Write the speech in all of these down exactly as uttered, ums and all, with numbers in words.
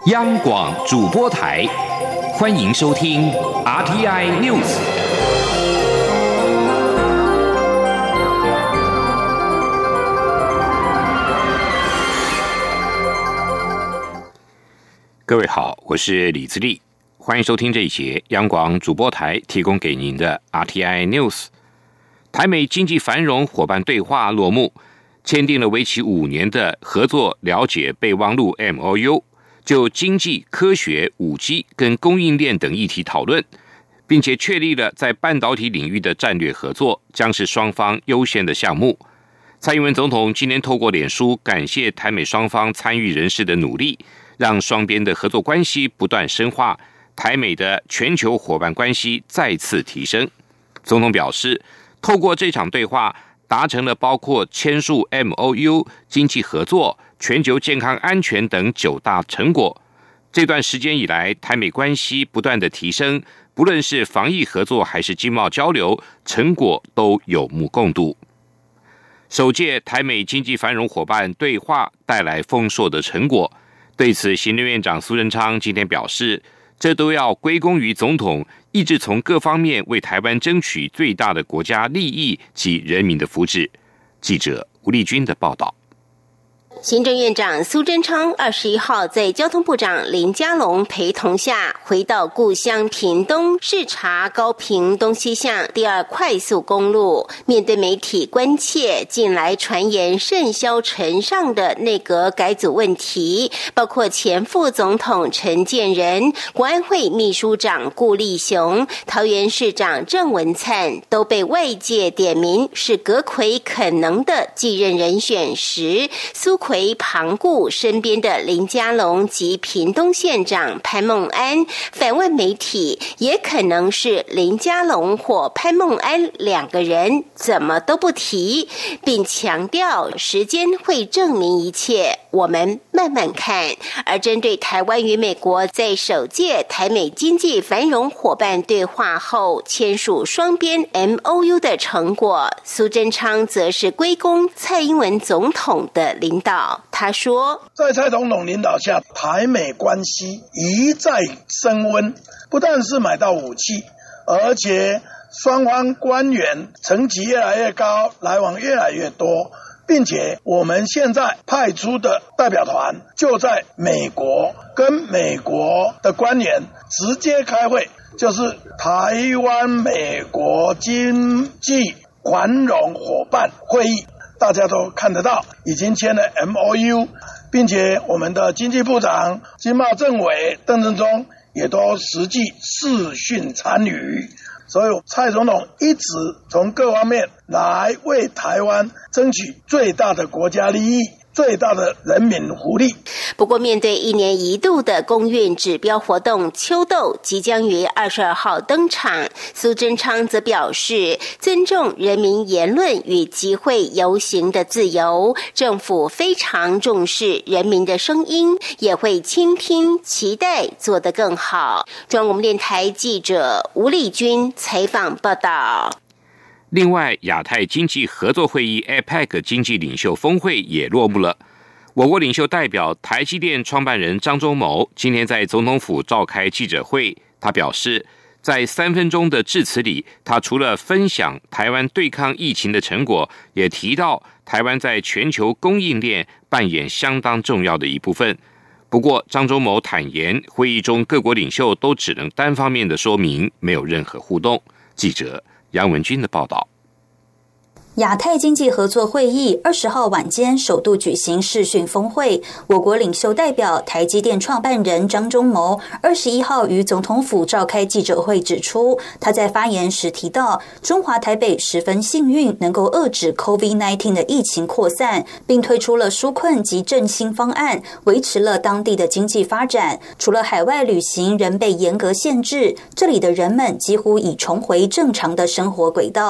央广主播台，欢迎收听 R T I News。各位好，我是李自立，欢迎收听这一节央广主播台提供给您的 R T I News。台美经济繁荣伙伴对话落幕，签订了为期五年的合作了解备忘录 M O U， 就经济、科学、五 G 跟供应链等议题讨论，并且确立了在半导体领域的战略合作将是双方优先的项目。蔡英文总统今天透过脸书感谢台美双方参与人士的努力，让双边的合作关系不断深化，台美的全球伙伴关系再次提升。总统表示，透过这场对话，达成了包括签署 M O U、经济合作、全球健康安全等九大成果。这段时间以来，台美关系不断的提升，不论是防疫合作还是经贸交流，成果都有目共睹。首届台美经济繁荣伙伴对话带来丰硕的成果，对此，行政院长苏贞昌今天表示，这都要归功于总统一直从各方面为台湾争取最大的国家利益及人民的福祉。记者吴丽君的报道。 行政院长苏贞昌二十一号在交通部长林佳龙陪同下回到故乡屏东，视察高屏东西向第二快速公路。面对媒体关切近来传言甚嚣尘上的内阁改组问题，包括前副总统陈建仁、国安会秘书长顾立雄、桃园市长郑文灿都被外界点名是阁揆可能的继任人选时，苏揆旁顾身边的林佳龙及屏东县长潘孟安反问媒体，也可能是林佳龙或潘孟安两个人，怎么都不提，并强调时间会证明一切，我们慢慢看。而针对台湾与美国在首届台美经济繁荣伙伴对话后签署双边 M O U 的成果，苏贞昌则是归功蔡英文总统的领导。他说， 在蔡总统领导下，台美关系一再升温，不但是买到武器，而且双方官员层级越来越高，来往越来越多，并且我们现在派出的代表团就在美国，跟美国的官员直接开会，就是台湾美国经济繁荣伙伴会议，大家都看得到，已经签了 M O U， 并且我们的经济部长、经贸政委邓正中也都实际视讯参与，所以蔡总统一直从各方面来为台湾争取最大的国家利益、最大的人民福利。 不过，面对一年一度的公运指标活动秋斗即将于二十二号登场，苏贞昌则表示，尊重人民言论与集会游行的自由，政府非常重视人民的声音，也会倾听，期待做得更好。中央广播电台记者吴丽君采访报道。 另外，亚太经济合作会议 A P E C 经济领袖峰会也落幕了。我国领袖代表台积电创办人张忠谋今天在总统府召开记者会，他表示，在三分钟的致辞里，他除了分享台湾对抗疫情的成果，也提到台湾在全球供应链扮演相当重要的一部分。不过，张忠谋坦言，会议中各国领袖都只能单方面的说明，没有任何互动。记者杨文君的报道。 亚太经济合作会议二十号晚间首度举行视讯峰会，我国领袖代表台积电创办人张忠谋二十一号于总统府召开记者会，指出他在发言时提到，中华台北十分幸运能够遏制 COVID 十九 的疫情扩散，并推出了纾困及振兴方案，维持了当地的经济发展。除了海外旅行仍被严格限制，这里的人们几乎已重回正常的生活轨道。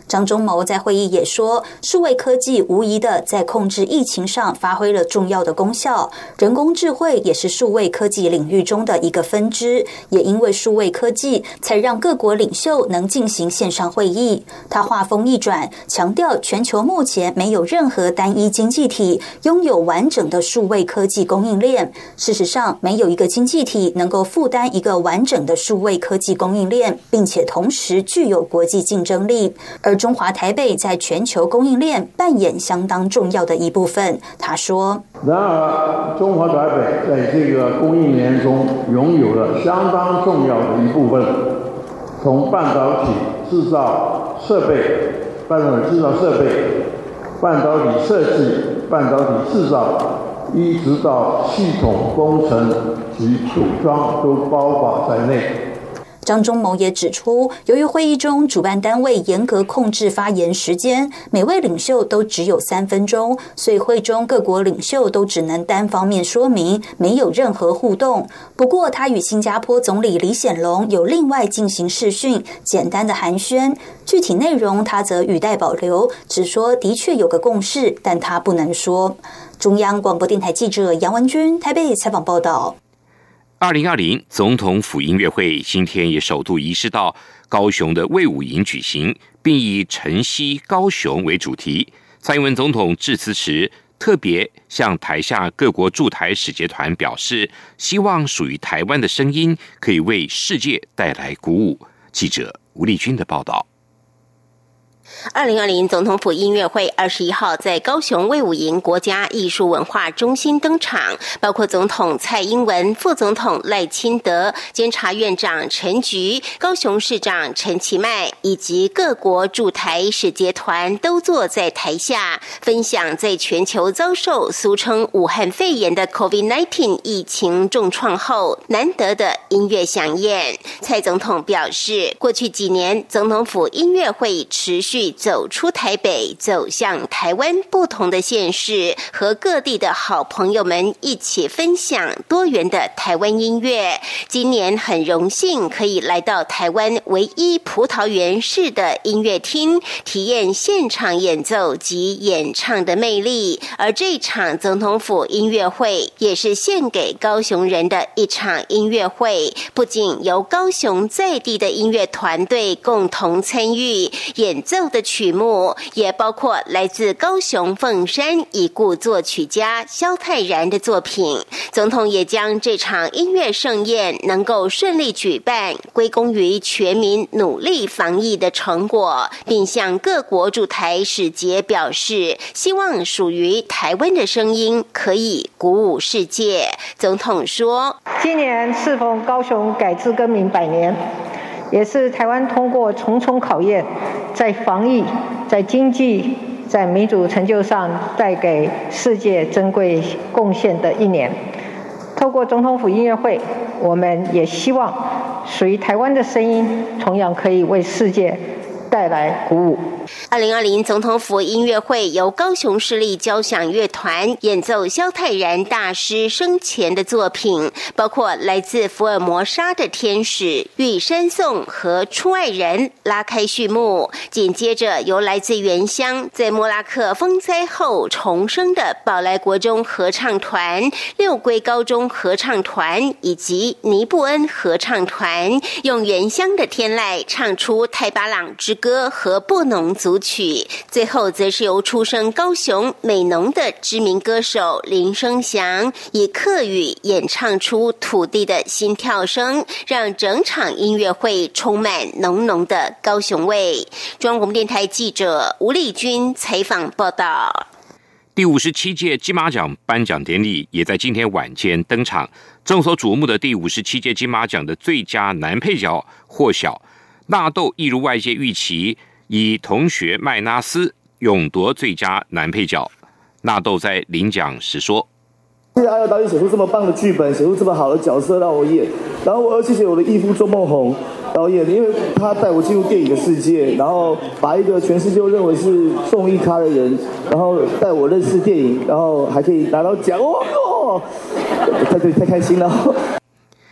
张忠谋在会议也说，数位科技无疑的在控制疫情上发挥了重要的功效，人工智慧也是数位科技领域中的一个分支，也因为数位科技才让各国领袖能进行线上会议。他话锋一转，强调全球目前没有任何单一经济体拥有完整的数位科技供应链，事实上没有一个经济体能够负担一个完整的数位科技供应链，并且同时具有国际竞争力，而中华台北在全球供应链扮演相当重要的一部分。他说， 然而中华台北在这个供应链中拥有了相当重要的一部分，从半导体制造设备、半导体制造设备、半导体设计、半导体制造，一直到系统工程及组装都包括在内。 张忠谋也指出，由于会议中主办单位严格控制发言时间，每位领袖都只有三分钟，所以会中各国领袖都只能单方面说明，没有任何互动。不过他与新加坡总理李显龙有另外进行视讯，简单的寒暄，具体内容他则语带保留，只说的确有个共识，但他不能说。中央广播电台记者杨文君台北采访报道。 二零二零总统府音乐会今天也首度移师到高雄的卫武营举行，并以晨曦高雄为主题。蔡英文总统致辞时特别向台下各国驻台使节团表示，希望属于台湾的声音可以为世界带来鼓舞。记者吴丽君的报道。 二零二零总统府音乐会二十一号在高雄卫武营国家艺术文化中心登场，包括总统蔡英文、副总统赖清德、监察院长陈菊、高雄市长陈其迈以及各国驻台使节团都坐在台下，分享在全球遭受俗称武汉肺炎的 COVID 十九 疫情重创后难得的音乐飨宴。蔡总统表示，过去几年总统府音乐会持续走出台北，走向台湾不同的县市，和各地的好朋友们一起分享多元的台湾音乐。今年很荣幸可以来到台湾唯一葡萄园式的音乐厅，体验现场演奏及演唱的魅力。而这场总统府音乐会也是献给高雄人的一场音乐会，不仅由高雄在地的音乐团队共同参与演奏的曲目，也包括来自高雄凤山已故作曲家萧泰然的作品。总统也将这场音乐盛宴能够顺利举办归功于全民努力防疫的成果，并向各国驻台使节表示，希望属于台湾的声音可以鼓舞世界。总统说， 今年适逢高雄改制更名百年，也是台湾通过重重考验，在防疫、在经济、在民主成就上带给世界珍贵贡献的一年。透过总统府音乐会，我们也希望属于台湾的声音同样可以为世界带来鼓舞。 二零二零总统府音乐会由高雄市立交响乐团演奏萧泰然大师生前的作品，包括来自福尔摩沙的天使、玉山颂和出爱人拉开序幕。紧接着由来自原乡在莫拉克风灾后重生的宝来国中合唱团、六龟高中合唱团以及尼布恩合唱团，用原乡的天籁唱出太巴朗之歌和布农组曲。最后则是由出生高雄美浓的知名歌手林生祥以客语演唱出土地的心跳声，让整场音乐会充满浓浓的高雄味。中央广播电台记者吴丽君采访报道。 第五十七届金马奖颁奖典礼也在今天晚间登场，众所瞩目的第五十七届金马奖的最佳男配角获晓，纳豆一如外界预期以同学麦纳斯勇夺最佳男配角。纳豆在领奖时说， 谢谢阿耀导演写出这么棒的剧本，写出这么好的角色让我演，然后我要谢谢我的义父周梦红导演，因为他带我进入电影的世界，然后把一个全世界认为是综艺咖的人，然后带我认识电影，然后还可以拿到奖，哦哟，太对太开心了。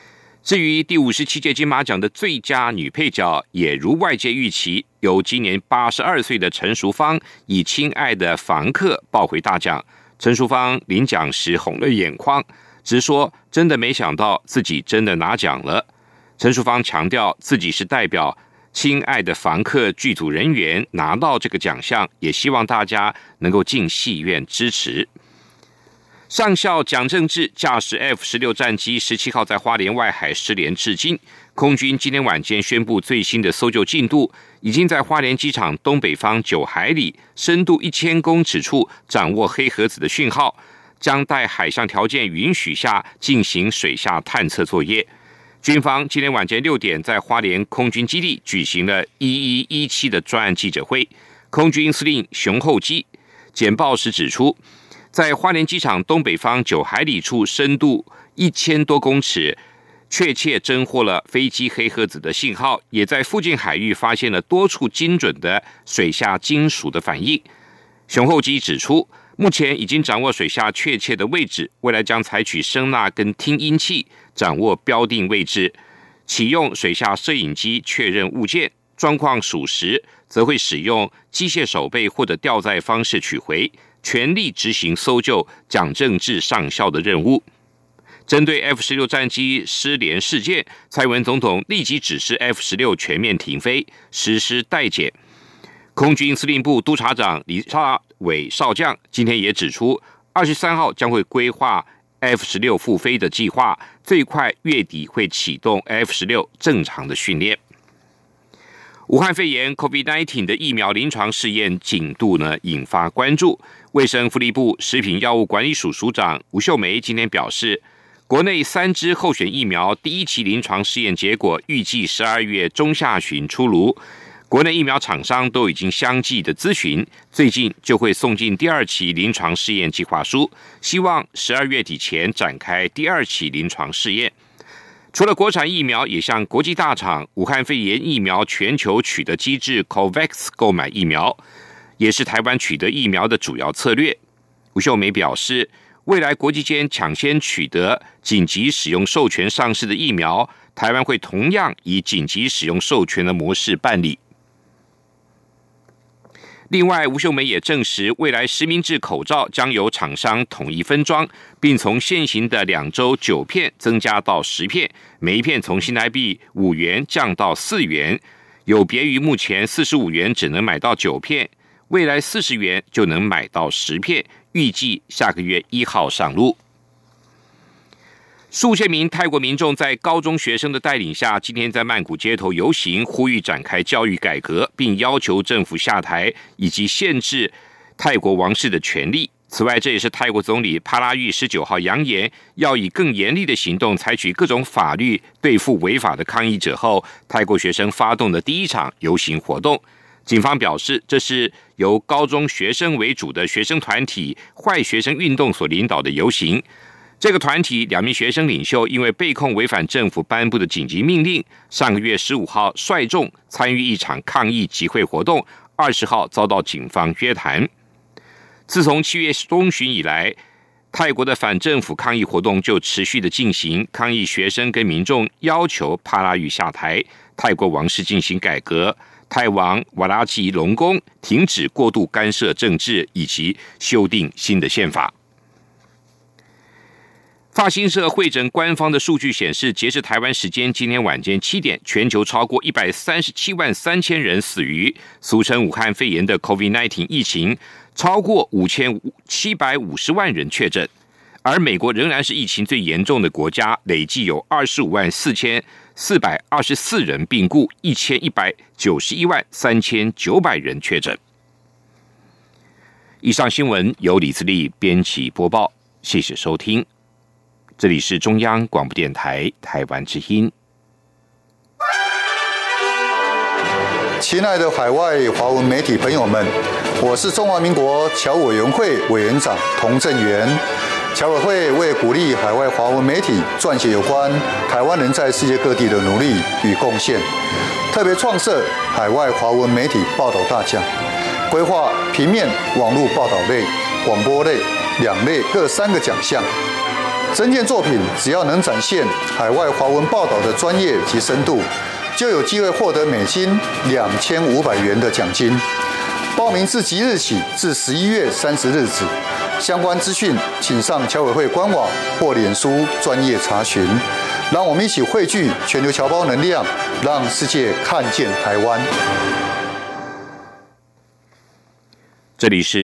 至于第五十七届金马奖的最佳女配角，也如外界预期，由今年八十二岁的陈淑芳以《亲爱的房客》抱回大奖。陈淑芳领奖时红了眼眶，直说真的没想到自己真的拿奖了。陈淑芳强调自己是代表《亲爱的房客》剧组人员拿到这个奖项，也希望大家能够进戏院支持。上校蒋正治驾驶 F 十六 战机十七号在花莲外海失联至今，空军今天晚间宣布最新的搜救进度，已经在花莲机场东北方九海里、深度一千公尺处掌握黑盒子的讯号，将待海上条件允许下进行水下探测作业。军方今天晚间六点在花莲空军基地举行了一一一七的专案记者会，空军司令熊厚基简报时指出，在花莲机场东北方九海里处深度一千多公尺，确切侦获了飞机黑盒子的信号，也在附近海域发现了多处精准的水下金属的反应。熊厚基指出，目前已经掌握水下确切的位置，未来将采取声纳跟听音器掌握标定位置，启用水下摄影机确认物件，状况属实则会使用机械手背或者吊载方式取回，全力执行搜救蒋正治上校的任务。针对 F 十六 战机失联事件，蔡英文总统立即指示 F 十六 全面停飞，实施待检。空军司令部督察长李大伟少将今天也指出，二十三号将会规划 F 十六 复飞的计划，最快月底会启动 F 十六 正常的训练。武汉肺炎 COVID 十九 的疫苗临床试验进度呢引发关注。卫生福利部食品药物管理署署长吴秀梅今天表示，国内三支候选疫苗第一期临床试验结果预计十二月中下旬出炉，国内疫苗厂商都已经相继的咨询，最近就会送进第二期临床试验计划书，希望十二月底前展开第二期临床试验。除了国产疫苗，也向国际大厂武汉肺炎疫苗全球取得机制 COVAX 购买疫苗，也是台湾取得疫苗的主要策略。吴秀梅表示，未来国际间抢先取得紧急使用授权上市的疫苗，台湾会同样以紧急使用授权的模式办理。另外，吴秀梅也证实，未来实名制口罩将由厂商统一分装，并从现行的两周九片增加到十片，每一片从新台币五元降到四元，有别于目前四十五元只能买到九片，未来四十元就能买到十片，预计下个月一号上路。数千名泰国民众在高中学生的带领下，今天在曼谷街头游行，呼吁展开教育改革，并要求政府下台以及限制泰国王室的权利。此外，这也是泰国总理帕拉育十九号扬言要以更严厉的行动采取各种法律对付违法的抗议者后，泰国学生发动的第一场游行活动。警方表示，这是由高中学生为主的学生团体坏学生运动所领导的游行。这个团体两名学生领袖因为被控违反政府颁布的紧急命令，上个月十五号率众参与一场抗议集会活动，二十号遭到警方约谈。自从七月中旬以来，泰国的反政府抗议活动就持续的进行，抗议学生跟民众要求帕拉育下台，泰国王室进行改革，泰王瓦拉吉隆功停止过度干涉政治，以及修订新的宪法。法新社会诊官方的数据显示，截至台湾时间今天晚间七点，全球超过一百三十七万三千人死于俗称武汉肺炎的 COVID 十九 疫情，超过五千七百五十万人确诊。而美国仍然是疫情最严重的国家，累计有二十五万四千四百二十四人病故，一千一百九十一万三千九百人确诊。以上新闻由李自力编辑播报，谢谢收听。这里是中央广播电台台湾之音。 亲爱的海外华文媒体朋友们，我是中华民国侨委员会委员长童振源。侨委会为鼓励海外华文媒体撰写有关台湾人在世界各地的努力与贡献，特别创设海外华文媒体报道大奖，规划平面、网络报道类、广播类两类各三个奖项。 征件作品只要能展现海外华文报道的专业及深度，就有机会获得美金两千五百元的奖金。报名自即日起至十一月三十日止，相关资讯请上侨委会官网或脸书专业查询。让我们一起汇聚全球侨胞能量，让世界看见台湾。 这里是